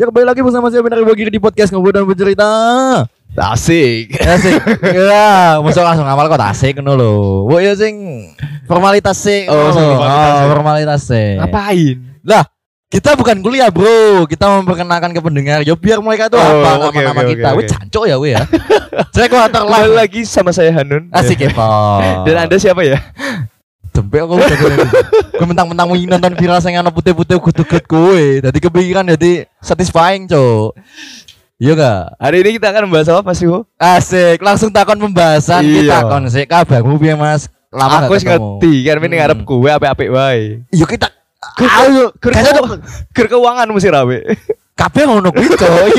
Ya kembali lagi bersama saya Benar Bagir di podcast Ngobrol dan Bercerita. Asik. Asik. Ya, masuk langsung awal kok asik ngono lho. Wo ya sing formalitas sih. Formalitas sih. Ngapain? Lah, kita bukan kuliah, Bro. Kita memperkenalkan ke pendengar. Ya biar mereka tuh apa nama-nama kita. Weh jancuk ya we ya. Saya kuatar Kembali lagi sama saya Hanun. Asik ya, Pak. Dan Anda siapa ya? Dempek aku udah gue mentang-mentang mau nonton viral sing ana putih-putih kudu-kudu kowe. Dadi kepikiran dadi satisfying, Cuk. Iya gak? Hari ini kita akan membahas apa sih, Ho? Asik, langsung takon pembahasan kita kon sik kabarmu piye Mas? Lama aku wis ngerti kan ini ngarep kowe apik-apik wae. Yo kita Ayo, ger keuangan mesti rawe. kabeh ngono kuwi, Cuk. Iki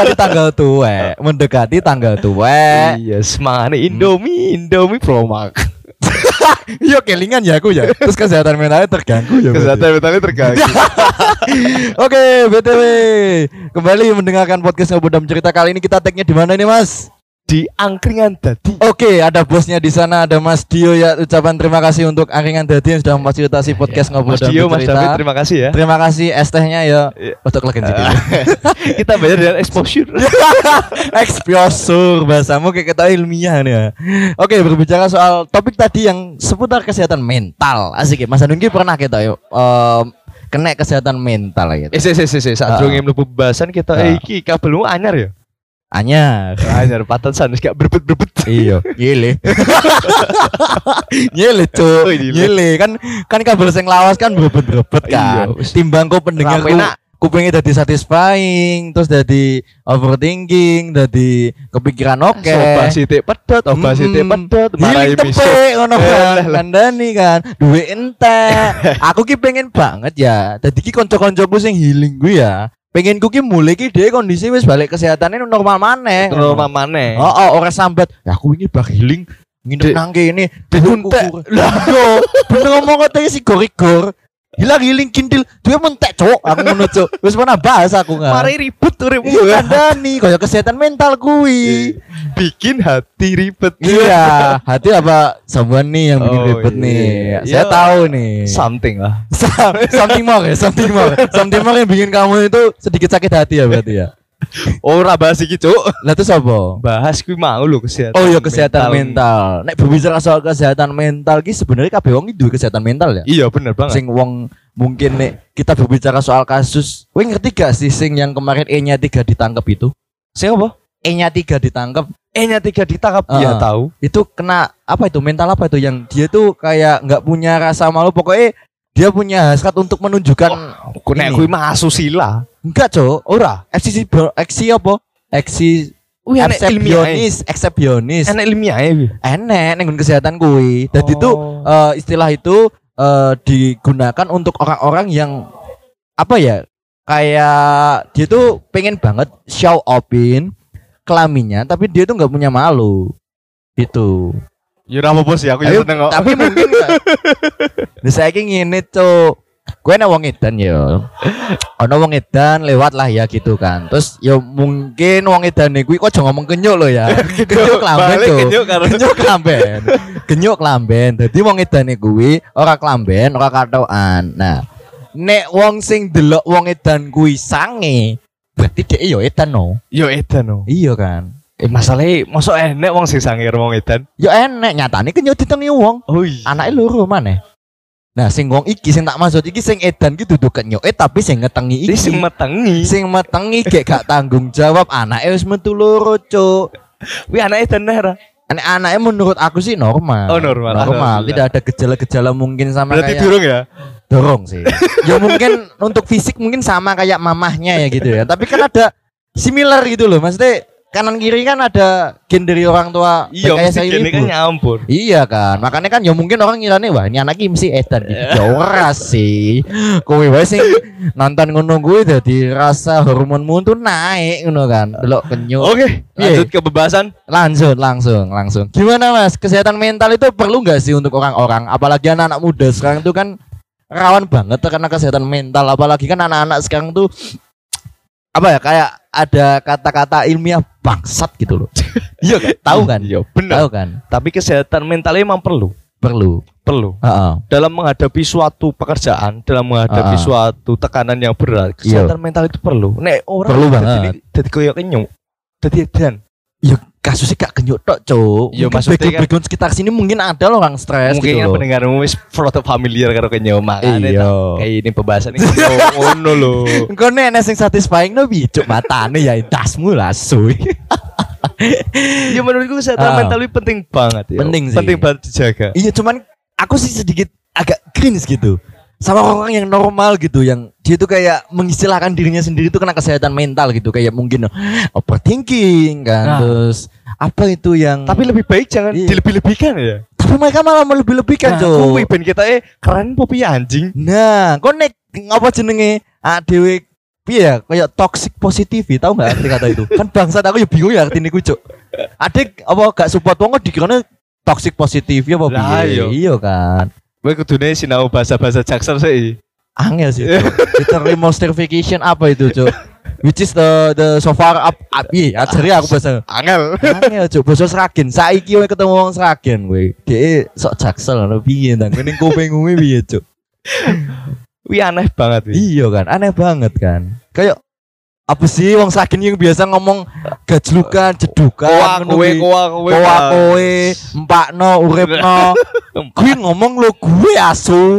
mendekati tanggal tuwek. Iya, semane Indomie Promax. Yo kelingan ya aku ya. Terus kesehatan mentalnya terganggu ya. Kesehatan mentalnya terganggu. Oke, BTW. Kembali mendengarkan podcast Ngobrol dan Cerita. Kali ini kita tag-nya di mana ini, Mas? Di Angkringan Dadi. Oke, ada bosnya di sana, ada Mas Dio ya. Ucapan terima kasih untuk Angkringan Dadi yang sudah memfasilitasi podcast Ngobrol dan Cerita. Mas David, terima kasih ya. Terima kasih es tehnya ya. Untuk legen sedikit. Kita bayar dengan exposure. Exposure bahasamu kayak kita ilmiah nih ya. Oke, berbicara soal topik tadi yang seputar kesehatan mental. Asik ya, Mas Anung pernah kita yuk kena kesehatan mental gitu. Saat durunge mlebu pembahasan kita iki kabelmu anyar ya. Anyar patasan wis gak berbet-berbet. Iya, nyele. Nyele, Cuk. Nyele kan kabel sing lawas kan berbet-berbet kan. Timbang kok pendengar kupingnya jadi satisfying, terus jadi overthinking, jadi kepikiran oke. Obat sithik pedot, marai misuk ngono kan. Kandani kan, duwe entek. Aku ki pengen banget ya. Dadi ki kanca-kancaku sing healing gue ya. Pengen ku ki mulai ki dhewe kondisi wis balik kesehatannya normal maneh. Ora sambat. Ya aku ini bak healing nginep nang kene entek. Lah yo, bener ngomong kok si gorigor. Hilang healing kintil, duwe mentek, Cuk. Aku ngono, Cuk. Wis pernah bahas aku kan. Mari ribut uripmu. Iya kandani kaya kesehatan mental kuwi. Bikin hati ribet. Iya, hati apa someone nih yang bikin ribet nih. Saya tahu nih. Something lah. Something more yang bikin kamu itu sedikit sakit hati ya berarti ya. Ora bahas iki, Cuk. Lah terus apa? Bahas kuwi mau lho kesehatan. Oh iya kesehatan mental. Nek berbicara soal kesehatan mental ki sebenarnya kabeh wong iki duwe kesehatan mental ya. Iya bener banget. Sing wong mungkin nek kita berbicara soal kasus, kowe ngerti gak sih sing yang kemarin E-nya 3 ditangkap itu? Sing apa? E-nya 3 ditangkap. E-nya 3 ditangkap. Iya tahu. Itu kena apa itu? Mental apa itu yang dia tuh kayak enggak punya rasa malu, pokoknya dia punya hasrat untuk menunjukkan nek kuwi mah asusila. Enggak, Cuk. Ora. Eksi apa? Eksepsionis. Enak ilmiah ya. Enak ning kesehatan kuwi. Dadi itu istilah itu digunakan untuk orang-orang yang apa ya? Kayak dia tuh pengen banget show offin kelaminnya tapi dia tuh enggak punya malu. Itu. Ya ora apa-apa sih aku ya seneng kok. Tapi mungkin saiki ngene, Cuk. Gue nek wong edan ya. Ana wong edan lewat lah ya gitu kan. Terus ya mungkin wong edane kuwi kok aja ngomong kenyuk lho ya. Kenyuk klamben tuh. Kenyuk klamben. Dadi wong edane kuwi ora klamben, ora katokan. Nah, nek wong sing delok wong edan kuwi sange, berarti dhek ya edan no. Ya edan no. Iya kan. Masalahnya mosok enek wong sing sange wong edan. Ya enek, nyatane kenyuk ditengi wong. Oh iya. Anake loro maneh. Nah, sing wong iki sing tak maksud iki sing edan ki dudu kenyuke tapi sing ngetengi iki. Sing metengi gek gak tanggung jawab anake wis metu loro, Cuk. Kuwi anake edan ora? Anake menurut aku sih normal. Oh, normal. Tidak ada gejala-gejala mungkin sama berarti kayak durung ya? Dorong sih. Ya mungkin untuk fisik mungkin sama kayak mamahnya ya gitu ya. Tapi kan ada similar gitu loh. Maksudnya kanan kiri kan ada gen dari orang tua. Iya, mesti gen kan nyampur. Iya kan, makanya kan ya mungkin orang ngirane wah ini anaknya mesti edan gitu. Ya ora sih. Kowe wae sing nonton ngono kuwi dadi rasa hormonmu tuh naik ngono kan. Delok kenyuk. Oke, lanjut ke pembahasan. Langsung. Gimana Mas? Kesehatan mental itu perlu enggak sih untuk orang-orang? Apalagi anak-anak muda sekarang tuh kan rawan banget terkena kesehatan mental, apalagi kan anak-anak sekarang tuh apa ya kayak ada kata-kata ilmiah bangsat gitu loh. Iya kan? Tahu kan? Iya benar. Tahu kan? Tapi kesehatan mentalnya emang perlu. Perlu. Dalam menghadapi suatu pekerjaan, dalam menghadapi suatu tekanan yang berat, kesehatan mental itu perlu. Nek orang perlu banget. Dadi koyo kenyuk. Dadi edan. Ya kasusnya gak kenyuk tok, Cuk. Ya maksudnya kan background sekitar sini mungkin ada loh orang stres mungkin gitu loh. Mungkin pendengarmu wis familiar karo kenyuk makane kayak ini pembahasan iki ngono lho. Engko nek sing satisfying no piye, Cuk, matane ya dasmu lah suy. Ya menurutku kesehatan mental itu penting banget ya. Penting sih. Penting banget dijaga. Iya, cuman aku sih sedikit agak cringe gitu sama orang yang normal gitu, yang dia tuh kayak mengistilahkan dirinya sendiri tuh kena kesehatan mental gitu, kayak mungkin overthinking kan, terus apa itu yang tapi lebih baik jangan dilebih-lebihkan ya. Tapi mereka malah melebih-lebihkan, Cuk. Kuwi ben kita keren popi anjing. Nah, kok nek apa jenenge dhewe piye ya, kayak toxic positivity, tahu enggak arti kata itu? Kan bangsat aku ya bingung ya artine ku, Cuk. Adik apa gak support wong kok dikirane toxic positivity apa piye? Iya kan. Gue kudune sinau bahasa-bahasa Jaksel sih. Angel sih. Literary certification apa itu, Cuk? Which is the so far up iya, ajari aku bahasa. Angel, Cuk, bahasa Sragen. Saiki kowe ketemu wong Sragen kowe. Dhek sok Jaksel ngono piye ndang kene kupingmu piye, Cuk? Wih aneh banget. Iya kan, aneh banget kan. Kayak apa sih wong Sragen yang biasa ngomong gajlukan, jedukan, kowe, empakno, uripno. Gue ngomong lo gue asu.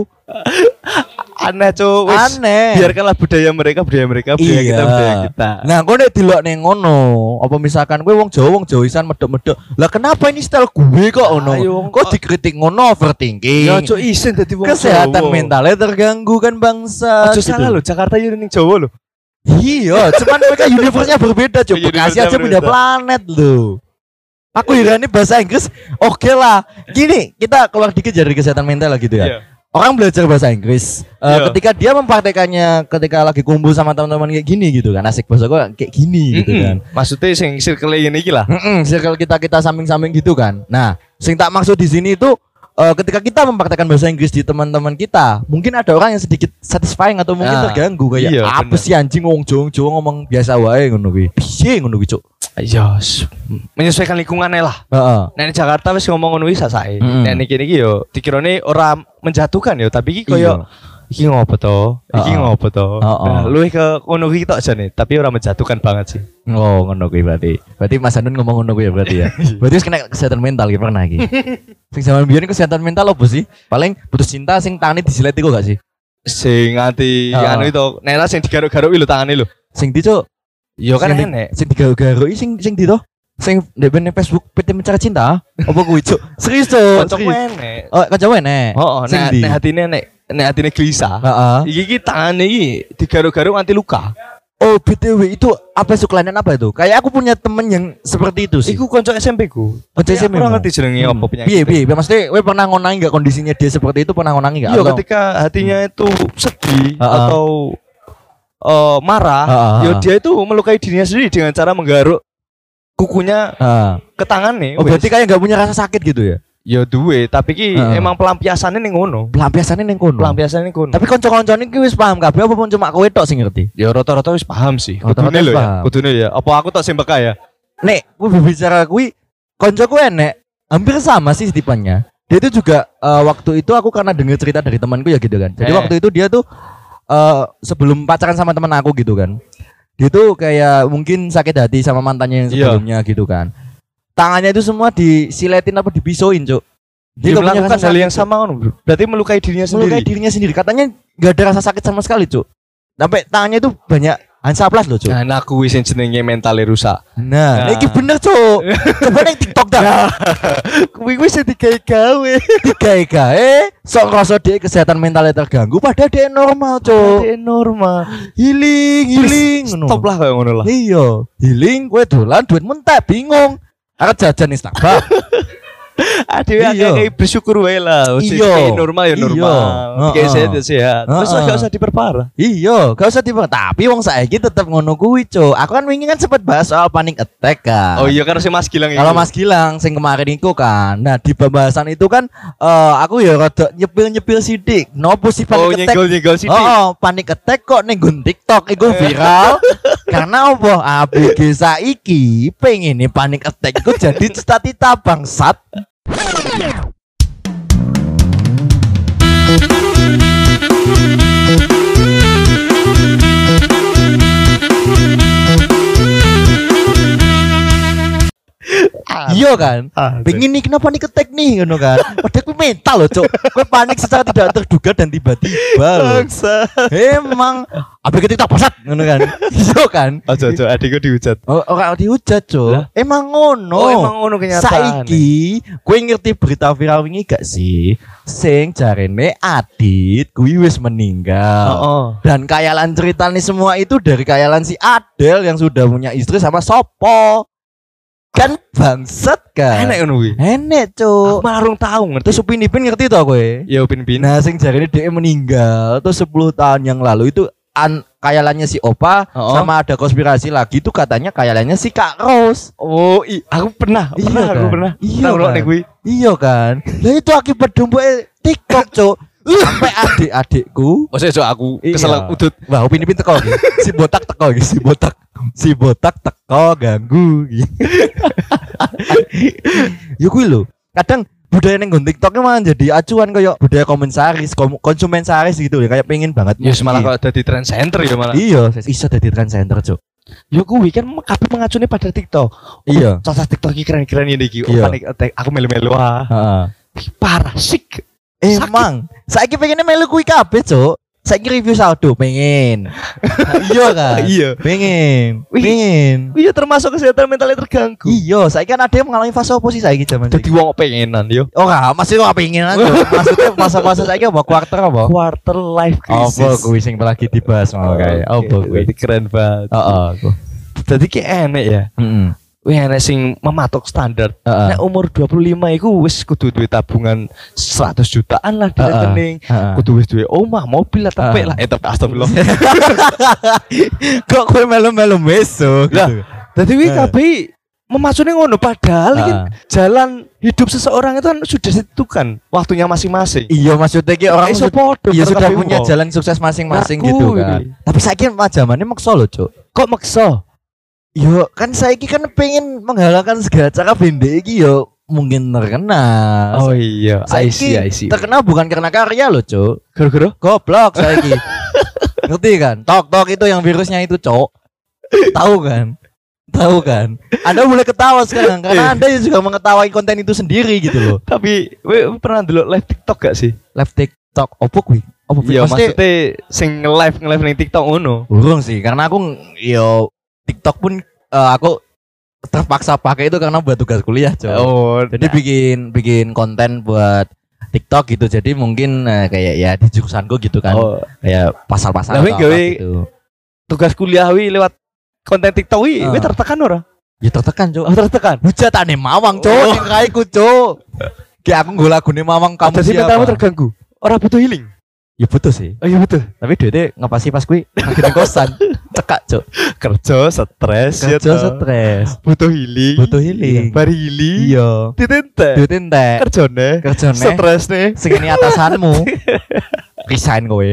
Aneh, Cuk. Aneh. Biarkanlah budaya mereka, budaya kita, budaya kita. Nah, gue nek delok ning ngono, apa misalkan gue wong Jawisan medok-medok. Lah kenapa ini style gue kok ngono? Kok dikritik ngono overthinking? Ya, Cuk, isin dadi wong kesehatan mentalnya terganggu kan bangsa. Aja salah lho, Jakarta yo ning Jawa lho. Iya, cuman mereka universe-nya berbeda, Cuk. Bekasi aja beda planet loh. Aku heran nih bahasa Inggris. Oke lah. Gini, kita keluar dikit dari kesehatan mental lah gitu ya. Yeah. Orang belajar bahasa Inggris. Ketika dia mempraktekannya, ketika lagi kumpul sama teman-teman kayak gini gitu kan, asik bahasa gua kayak gini gitu kan. Maksudnya sing circle ini iki lah. Circle kita samping-samping gitu kan. Nah, sing tak maksud di sini itu ketika kita mempraktekkan bahasa Inggris di teman-teman kita, mungkin ada orang yang sedikit satisfying atau mungkin terganggu kayak apa sih anjing wong Jawa ngomong biasa wae ngono kuwi. Piye ngono kuwi, Cuk? Iya, menyesuaikan lingkungannya lah. Nek Jakarta wis ngomong ngono wis sasae. Nek niki yo dikirone ora menjatuhkan yo, tapi iki koyo iki ngopo to? Iki ngopo to? Nah, luwih ke ngono iki tok jane, tapi ora menjatuhkan banget sih. Oh, ngono kuwi berarti. Berarti Mas Anun ngomong ngono kuwi ya berarti ya. Berarti wis kena kesehatan mental iki pernah iki. Sing zaman biyen kesehatan mental opo sih? Paling putus cinta sing tangane disilet iku gak sih? Sing nganti anu itu, nek sing digaruk-garuk lho tangane lho. Sing di, Cuk. Yo kan enek. Sing digaruk-garuk sing di to. Sing ndek Facebook PT Mencari Cinta. Apa kuwi, Cuk? Serius, Cuk. Kancamu enek. Oh, kancamu enek. Heeh, nek hatine gelisah. Iki tangane iki digaruk-garuk nganti luka. Oh, BTW itu apa kelainan apa itu? Kayak aku punya temen yang seperti itu sih. Iku kanca SMP ku. Kanca SMP. Aku ora ngerti jenenge apa penyakit. Piye? Maksudnya kowe pernah ngonangi enggak kondisinya dia seperti itu, pernah ngonangi enggak? Iya, ketika hatinya itu sedih atau marah, ya dia itu melukai dirinya sendiri dengan cara menggaruk kukunya ke tangannya. Oh, berarti kayak enggak punya rasa sakit gitu ya? Ya duwe, tapi ki emang pelampiasannya ning ngono. Pelampiasannya ning kono. Tapi kanca-kancane ki wis paham kabeh apa pun cuma kowe tok sing ngerti? Ya rata-rata wis paham sih. Kudune lho ya. Kudune ya. Apa aku tok sing beka ya? Nek kowe berbicara kuwi kancaku enek hampir sama sih tipenya. Dia itu juga waktu itu aku karena dengar cerita dari temanku ya gitu kan. Jadi waktu itu dia tuh sebelum pacaran sama teman aku gitu kan. Dia tuh kayak mungkin sakit hati sama mantannya yang sebelumnya gitu kan. Tangannya itu semua disiletin apa dipisoin, Cuk. Dia melakukan hal yang sama kan, berarti melukai dirinya sendiri. Katanya gak ada rasa sakit sama sekali, Cuk. Sampai tangannya itu banyak hansaplas loh, Cuk. Nah, aku wis jenenge mentalnya rusak. Nah, iki bener, Cuk. Coba ning TikTok dah. Kuwi wis digawe-gawe. Sok ngrasa dhek kesehatan mentalnya terganggu padahal dhek normal, Cuk. Dhek normal. Healing ngono. Stop lah kayak ngono lah. Iya, healing kowe dolan duit mentek bingung. Arep jajan ning Starbucks. Aduh, kayak bersyukur wae lah. Iya, normal ya normal. Kayak sehat. Terus gak usah diperparah. Iya, gak usah diperparah. Tapi wong saiki tetep ngono kuwi, Cuk. Aku kan wingi kan sempat bahas soal panic attack kan. Oh iya, karena si Mas Gilang itu. Kalau Mas Gilang sing kemarin iku kan. Nah, di pembahasan itu kan aku ya rada nyepil sithik. Nopo sih panic attack? Nyegol sithik. Oh, panic attack kok ning TikTok iku viral. Karena apa? ABG saiki pengen nih panic attack iku jadi cita-cita bangsat. Iya kan? Pengen nih kenapa nih ketek nih ngono kan. Padahal gue mental loh, Cuk. Gue panik secara tidak terduga dan tiba-tiba loh. Emang apa kita pasat ngono kan. Iya kan? Ojo adikku dihujat. Oh, ora dihujat, Cuk. Emang ngono. Oh, emang ngono kenyataan. Saiki gue ngerti berita viral wingi gak sih? Sing jarene Adit kuwi wis meninggal. Dan kayalan ceritanya semua itu dari kayalan si Adel yang sudah punya istri sama Sopo. Kan bangsat kan. Enek ngono kuwi. Enek, Cuk. Malah rung tau ngerti. Terus Upin Ipin ngerti to kowe? Ya Upin Ipin. Nah, sing jarene dia meninggal tuh 10 tahun yang lalu itu kayalannya si Opa sama ada konspirasi lagi itu katanya kayalannya si Kak Ros. Oh, aku pernah. Aku pernah. Iya kan. Iya kan. Lah itu akibat domba TikTok, Cuk. Sampai adik-adikku. Maksudnya aku kesel udut. Wah, Upin Ipin teko iki. Si botak teko iki, si botak teko ganggu iki. Ya kuwi lho. Kadang budaya neng TikToknya malah jadi acuan kayak budaya konsumen saris gitu ya, kayak pengen banget. Ya malah kalau jadi trend center ya malah. Iya, iso jadi trend center, Cuk. Ya kuwi kan kabeh mengacune pada TikTok. Iya. Cocok TikTok iki keren-keren ini iki. Panik aku melu-melu ah. Parah sik. Emang saiki pengennya melu kuwi kabeh, Cuk. Saiki review saldo pengen. Iya kan? Iya. Pengen. Iya termasuk kesehatan mentalnya terganggu. Iya, saiki kan ada yang mengalami fase oposisi saiki zaman. Dadi wong pengenan yo. Ora, masih wong pengenan. Maksudnya fase-fase saiki apa? Quarter life crisis. Apa kuwi sing lagi dibahas mau kae. Apa kuwi? Keren banget. Heeh. Dadi ki enek ya. Heeh. Wih enek sing mematok standar. Nek umur 25 iku wis kudu duwe tabungan 100 jutaan lah di rekening. Kudu wis duwe omah, mobil lah, tepek lah. Tepek astagfirullah. Kok kowe melu-melu meso gitu. Dadi kuwi kabeh memacune ngono padahal kan jalan hidup seseorang itu kan sudah ditentukan waktunya masing-masing. Iya, maksudnya ki orang sudah punya jalan sukses masing-masing gitu kan. Tapi saiki zamane maksa lho, Cuk. Kok maksa? Yo kan saiki kan pengen menghalalkan segala cara bende iki yo mungkin terkenal. Oh iya, I see. Terkenal bukan karena karya loh, Cuk. Gara-gara goblok saiki. Ngerti kan? Tok itu yang virusnya itu, Cuk. Tahu kan? Anda boleh ketawa sekarang karena Anda juga mengetahui konten itu sendiri gitu loh. Tapi pernah dulu live TikTok gak sih? Live TikTok opo kuwi? Iya, maksudnya sing nge-live ning TikTok ngono. Urung sih, karena aku yo TikTok pun aku terpaksa pakai itu karena buat tugas kuliah, Cok. Oh, jadi bikin konten buat TikTok gitu. Jadi mungkin kayak ya di jurusanku gitu kan. Kayak pasal-pasal gitu. Tugas kuliah lewat konten TikTok tertekan ora? Ya tertekan, Cok. Tertekan. Hujatane Mawang, Cok. Sing kaiku, Cok. Kayak aku nggo lagune Mawang kamu siapa? Jadi mentalmu terganggu. Ora butuh healing. Ya butuh sih. Oh iya betul. Tapi duitnya ngapasi pas kuwi lagi di kosan. Cekak, Cuk. Kerja stres. Butuh healing. Bari healing. Iya. Duit entek. Kerjane. Stres nih. Sing ini atasanmu. Resign kowe.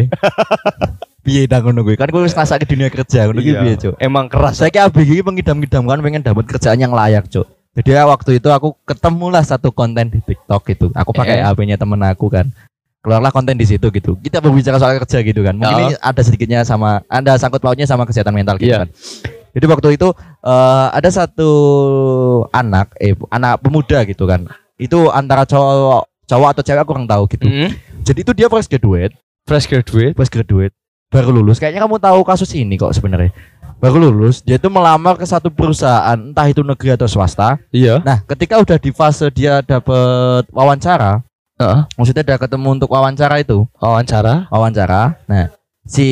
Piye dah ngono kuwi? Kan kowe wis ngrasake dunia kerja ngono ki piye, Cuk? Emang keras. Saiki ABG iki mengidam-idamkan pengen dapat kerjaan yang layak, Cuk. Jadi waktu itu aku ketemulah satu konten di TikTok gitu. Aku pakai HP-nya temen aku kan. Keluarlah konten di situ gitu. Kita berbicara soal kerja gitu kan. Mungkin ini ada sedikitnya ada sangkut pautnya sama kesehatan mental gitu kan. Jadi waktu itu ada satu anak pemuda gitu kan. Itu antara cowok atau cewek aku kurang tahu gitu. Jadi itu dia fresh graduate. Baru lulus. Kayaknya kamu tahu kasus ini kok sebenarnya. Baru lulus, dia itu melamar ke satu perusahaan, entah itu negeri atau swasta. Iya. Nah, ketika udah di fase dia dapat wawancara, maksudnya udah ketemu untuk wawancara itu. Wawancara. Nah, si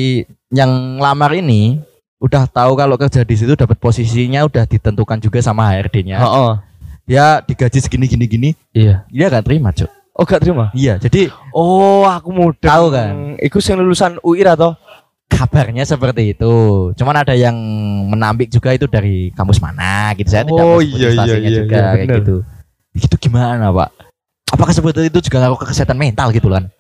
yang lamar ini udah tahu kalau kerja di situ dapat posisinya udah ditentukan juga sama HRD-nya. Dia digaji segini. Iya. Dia gak terima, Cuk. Oh, gak terima? Iya, jadi aku mudah tahu kan. Iku yang lulusan UI atau? Kabarnya seperti itu. Cuman ada yang menambik juga itu dari kampus mana gitu. Saya tidak juga kayak gitu. Itu gimana, Pak? Apakah seperti itu juga ngaruh ke kesehatan mental gitu kan?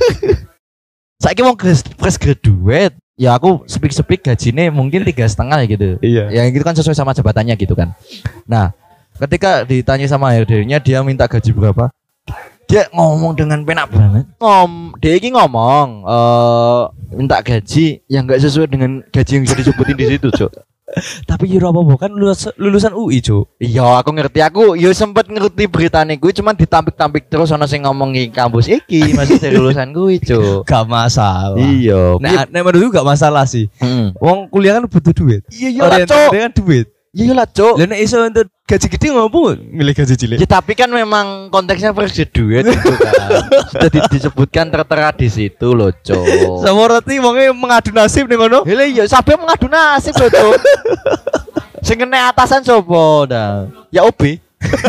Saya mau fresh graduate, ya aku speak gajinya mungkin 3,5 gitu. Iya. Yang itu kan sesuai sama jabatannya gitu kan. Nah, ketika ditanya sama HRD-nya dia minta gaji berapa? Dia ngomong dengan penak banget. Dia ini ngomong minta gaji yang enggak sesuai dengan gaji yang bisa disebutin di situ, Cok. Tapi yo apa kan lulusan UI, Cuk. Iya, aku ngerti. Aku yo sempet ngerti beritane kuwi cuman ditampik-tampik terus ana sing ngomong iki kampus iki masih dari lulusan kuwi, Cuk. Gak masalah. Iya. Nah, nek menurutku gak masalah sih. Wong kuliah kan butuh duit. Iya lah, Cuk. Kan duit. Iya lah, Cuk. Lah nek iso untuk gaji gede ngopo milih gaji cilik? Ya tapi kan memang konteksnya versi duit itu kan. Sudah disebutkan tertera di situ loh, Cuk. Sama roti wonge mengadu nasib ning ngono. Lha iya sampe mengadu nasib loh, Cuk. Sing kena atasan sapa dah? Ya OB.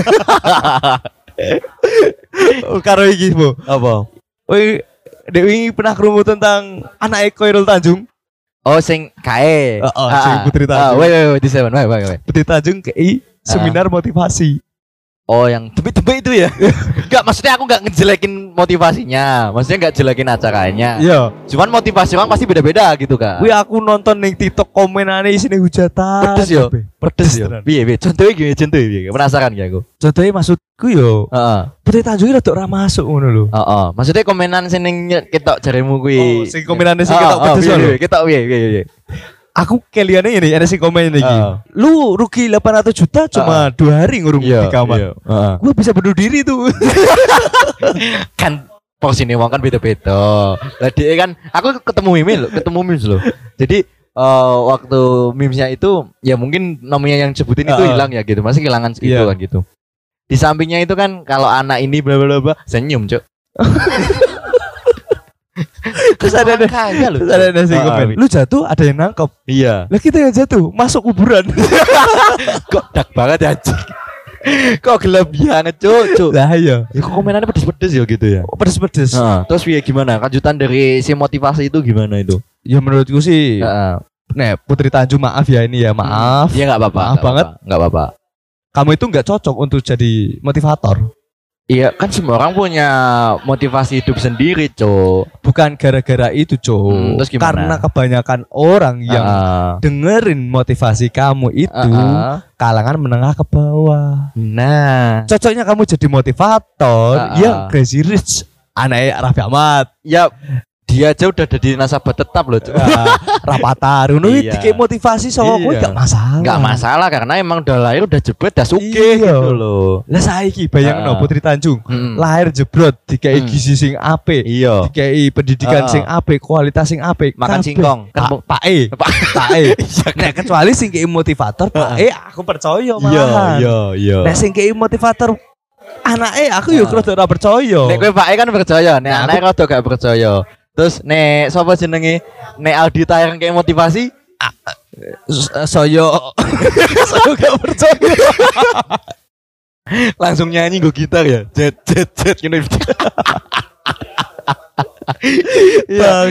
Karo iki, Bu. Apa? Woi, Dewi pernah krungu tentang anak Koirul Tanjung? Oh, sing kae. Sing Putri Tanjung. Wait, di seven. Wait. Putri Tanjung kei seminar motivasi. Oh, yang tebik-tebik itu ya? Enggak, maksudnya aku enggak ngejelekin motivasinya. Maksudnya enggak jelekin acaranya. Iya. Cuman motivasi orang pasti beda-beda gitu kan. Wih, aku nonton ning TikTok komenane isine hujatan. Pedes yo. Pedes yo. Piye? Contohnya gimana? Contohnya penasaran gak aku? Contohnya maksudku yo. Putri Tanjung rada ora masuk ngono lho. Maksudnya komenan sing ketok jaremu kuwi. Sing komenane sing ketok pedes lho. Ketok piye. Aku keliane ini ada sing komen iki. Lu rugi 800 juta cuma 2 hari ngurung di kamar. Gua bisa bunuh diri tuh. Kan porsinya wong kan beda-beda. Lah dia kan aku ketemu memes loh. Jadi waktu memesnya itu ya mungkin namanya yang sebutin itu hilang ya gitu. Masih kehilangan segitu kan gitu. Di sampingnya itu kan kalau anak ini bla bla bla senyum, Cuk. Terus ada sing komen. Lu jatuh ada yang nangkep. Iya. Lah kita yang jatuh masuk kuburan. Kok dak banget ya, Cuk. Kok gelap banget, Cuk. Lah iya. Ya kok komenannya pedes-pedes ya gitu ya. Pedes-pedes. Terus gimana? Lanjutan dari si motivasi itu gimana itu? Ya menurutku sih. Nek Putri Tanjung maaf ya ini ya, maaf. Iya enggak apa-apa. Maaf banget. Enggak apa-apa. Kamu itu enggak cocok untuk jadi motivator. Iya, kan semua orang punya motivasi hidup sendiri, Cuk. Bukan gara-gara itu, Cuk. Terus gimana? Karena kebanyakan orang yang dengerin motivasi kamu itu kalangan menengah ke bawah. Nah, cocoknya kamu jadi motivator yang crazy rich. Anaknya Raffi Ahmad. Ya, dia aja udah jadi nasabah tetap loh, Cuk. Rapatar ngono iki motivasi sama kowe gak masalah. Gak masalah karena emang udah lahir udah jebret dah sugih gitu loh. Lah saiki bayangno Putri Tanjung lahir jebrot dikai gizi sing apik, dikai pendidikan sing apik, kualitas sing apik, makan singkong kan Pak E. Nek kecuali sing kei motivator Pak E aku percaya malah. Iya. Nek sing kei motivator anake aku yo rada ora percaya. Nek kowe Pak E kan percaya, nek anake rada gak percaya. Terus nek sapa jenenge? Nek Aldi Taher kayak motivasi saya gak percaya. Langsung nyanyi gue gitar ya. Jet gini. Iya.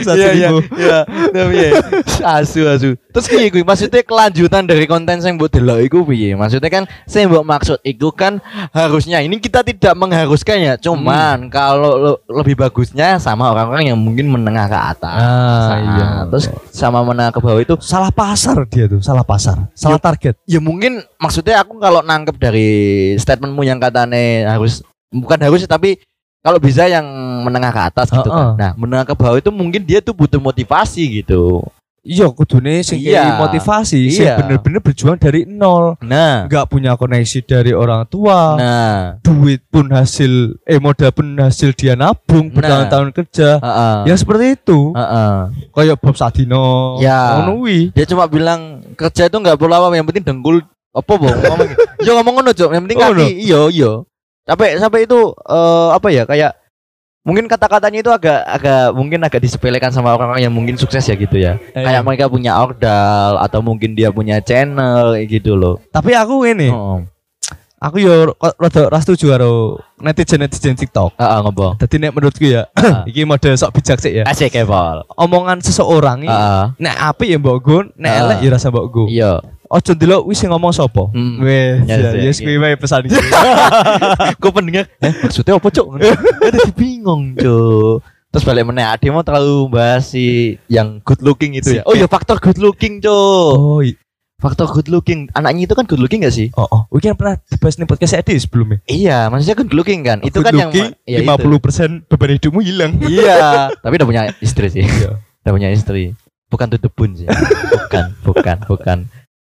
Asu. Terus piye kuwi? Maksudnya kelanjutan dari konten sing mbok delok iku piye? Maksudnya kan sing mbok maksud iku kan harusnya ini kita tidak mengharuskan ya, cuman kalau lebih bagusnya sama orang-orang yang mungkin menengah ke atas. Iya. Terus sama menengah ke bawah itu salah pasar dia tuh, salah target. Ya mungkin maksudnya aku kalau nangkep dari statementmu yang katanya bukan harus tapi kalau bisa yang menengah ke atas gitu kan. Nah, menengah ke bawah itu mungkin dia tuh butuh motivasi gitu. Iya, kudune sing motivasi, sing bener-bener berjuang dari nol. Nah, enggak punya koneksi dari orang tua. Nah, duit pun hasil modal pun hasil dia nabung bertahun-tahun kerja. Ya seperti itu. Kayak Bob Sadino. Ngono kuwi. Dia cuma bilang kerja itu enggak perlu apa, yang penting dengkul apa ngomong. Yo ngomong ngono, Cuk. Yang penting kaki. Iya. Sampai itu apa ya, kayak mungkin kata-katanya itu agak disepelekan sama orang-orang yang mungkin sukses ya gitu ya. Kayak mereka punya ordal atau mungkin dia punya channel gitu loh. Tapi aku ini aku yo rada ora setuju karo netizen TikTok. Ngopo? Dadi nek menurutku ya iki mode sok bijak sik ya. Asik ya, Pol. Omongan seseorang iki nek apik ya mbok go, nek elek ya rasa mbok go. Iya. Ojo ndelok wis sing ngomong sapa. Wes, yes kuwi wae pesan iki. Kok pendengar, maksudnya apa, Cuk? Dadi bingung, Cuk. Terus balik meneh ade mau terlalu bahas si yang good looking itu ya. Oh ya, faktor good looking, Cuk. Faktor good looking. Anaknya itu kan good looking gak sih? Weekend pernah dibahas nih podcast Edi sebelumnya. Iya, maksudnya good looking kan. Itu good kan looking, yang 50% beban hidupmu hilang. Iya, tapi udah punya istri sih. Udah punya istri. Bukan to the bone sih. Bukan.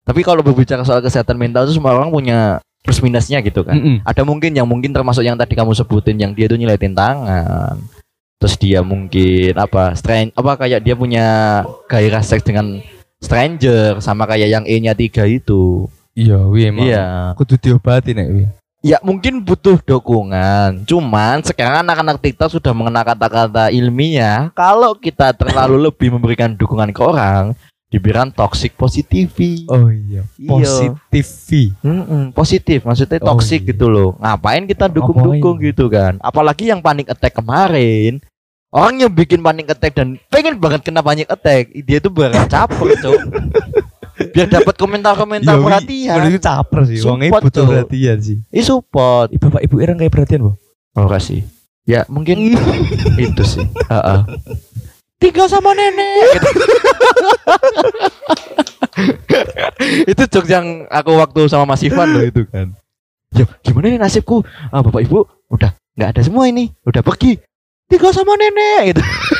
Tapi kalau berbicara soal kesehatan mental itu semua orang punya plus minusnya gitu kan. Ada mungkin yang mungkin termasuk yang tadi kamu sebutin yang dia tuh nyeletin tangan. Terus dia mungkin kayak dia punya gairah seks dengan stranger sama kayak yang E-nya 3 itu. Iya, emang. Iya. Kudu diobati nek wi. Ya mungkin butuh dukungan. Cuman sekarang anak-anak TikTok sudah mengenal kata-kata ilmiah. Kalau kita terlalu lebih memberikan dukungan ke orang, dibilang toxic positivity. Oh iya. Positif maksudnya toxic gitu loh. Ngapain kita dukung-dukung gitu kan? Apalagi yang panic attack kemarin. Orang yang bikin panic attack dan pengen banget kena panic attack, dia tuh berat caper, Cok. Biar dapat komentar-komentar perhatian. Itu caper sih. Wong butuh perhatian sih. Support. Bapak Ibu Ireng kayak perhatian, Bu. Oh, kasih. Ya, mungkin itu sih. Tinggal sama nenek. Gitu. Itu jokes yang aku waktu sama Mas Ivan loh itu kan. Ya, gimana nih nasibku? Bapak Ibu udah nggak ada semua ini, udah pergi. Tinggal sama nenek gitu.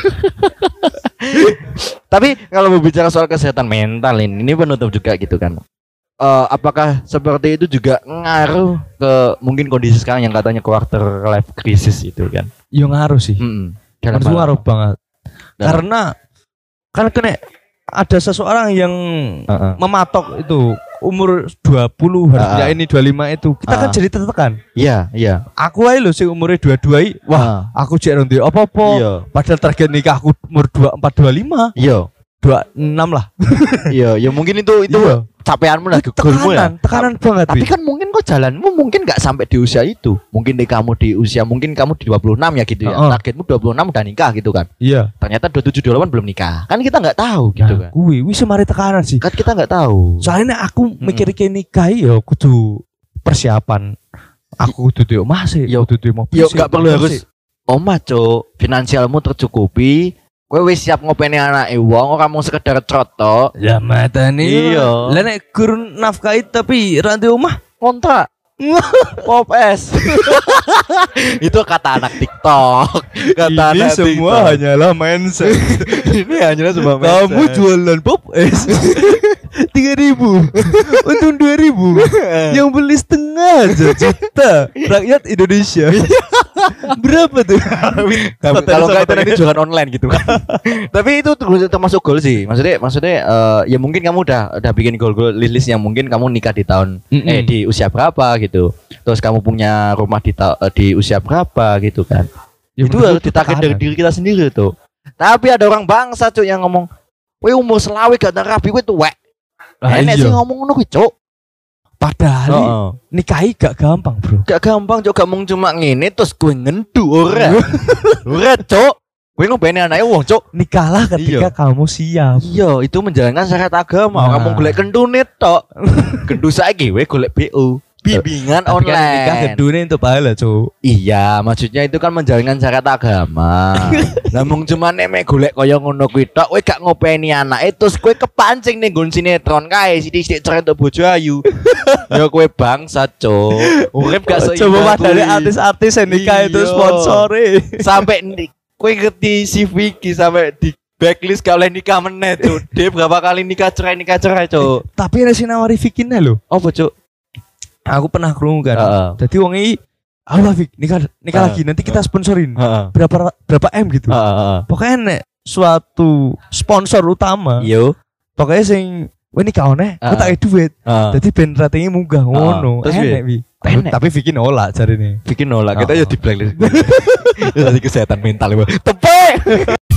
Tapi kalau berbicara soal kesehatan mental ini penutup juga gitu kan. Apakah seperti itu juga ngaruh ke mungkin kondisi sekarang yang katanya quarter life crisis itu kan? Iya ngaruh sih. Ngaruh banget. Karena kan kena ada seseorang yang mematok itu umur 20 harusnya ini 25 itu kita kan jadi tertekan. Iya. Aku aja loh sih umurnya 22 wah aku cek nanti apa-apa. Iya. Padahal target nikah aku umur 24 25. Iya. 26 lah. Iya, mungkin itu iya. Capeanmu lah, goalmu ya. Tekanan banget. Tapi kan mungkin kok jalanmu mungkin nggak sampai di usia itu. Mungkin kamu di usia mungkin kamu di 26 ya gitu ya. Targetmu 26 udah nikah gitu kan. Iya. Ternyata 27 28 belum nikah. Kan kita nggak tahu gitu kan. Wis mari tekanan sih. Kan kita nggak tahu. Soalnya aku mikir nikah ya kudu persiapan. Aku kudu di omah sih. Ya kudu di mobil. Ya enggak perlu harus omah, Cuk. Finansialmu tercukupi. Kowe wis siap ngopeni anake wong ora mung sekedar troto. Ya matane. Iya. Lah nek gurun nafkahi tapi ra ndek omah kontrak. Pop es. Itu kata anak TikTok. Kata ini anak semua TikTok. hanyalah mindset. Ini hanyalah semua mindset. Kamu jualan pop es 3.000 untung 2.000 yang beli setengah aja juta rakyat Indonesia. Berapa tuh? Kalau nggak itu nanti jualan online gitu kan. Tapi itu termasuk goal sih. Maksudnya ya mungkin kamu udah bikin goal list yang mungkin kamu nikah di tahun di usia berapa gitu. Terus kamu punya rumah di usia berapa gitu kan. Ya, itu harus ditarget dari diri kita sendiri tuh. Tapi ada orang bangsa Cuk yang ngomong, "Weh umur selawe gak rapi kowe tuwek." Enek sih ngomong ngono kuwi, Cuk. Padahal nikahi gak gampang, Bro. Gak gampang, Cuk. Gak mung cuma ngene terus gue ngendu ora. Ora, Cuk. Kowe ngopeni anake wong, Cuk. Nikahlah ketika kamu siap. Iya, itu menjalankan syariat agama. Kamu golek kentune tok. Kendu saiki kowe golek BO. Bimbingan online. Kan nikah kedune untuk pahala, Cuk. Iya, maksudnya itu kan menjalankan syariat agama. Namun cuma nek golek kaya ngono kuwi tok, kowe gak ngopeni anake terus kowe kepancing ning nggon sinetron kae sithik-sithik cerai untuk bojo ayu. Ya kowe bangsa, Cuk. Urip gak seimbang. Coba padahal artis-artis yang nikah itu sponsore. Sampai kowe ngerti si Vicky sampai di backlist gak oleh nikah meneh, Cuk. Dia berapa kali nikah cerai, Cuk. Tapi ada si nawari Vicky lho. Apa, Cuk? Aku pernah krungu kan. Jadi wong iki Allah Fik, nikah lagi nanti kita sponsorin. Berapa M gitu. Pokoknya nek suatu sponsor utama. Yo. Pokoknya sing nikah oneh, aku tak duit. Jadi ben ratingnya munggah ngono. Enek Wi. Tapi Vicky nolak jarine. Vicky nolak. Kita ya di blacklist. Itu kesehatan mental. Tepe.